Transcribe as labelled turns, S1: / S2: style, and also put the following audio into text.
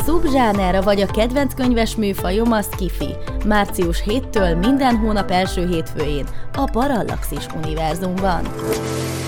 S1: szubzsáner vagy a kedvenc könyves műfajom a sci-fi. Március 7-től minden hónap első hétfőjén a Parallaxis univerzumban.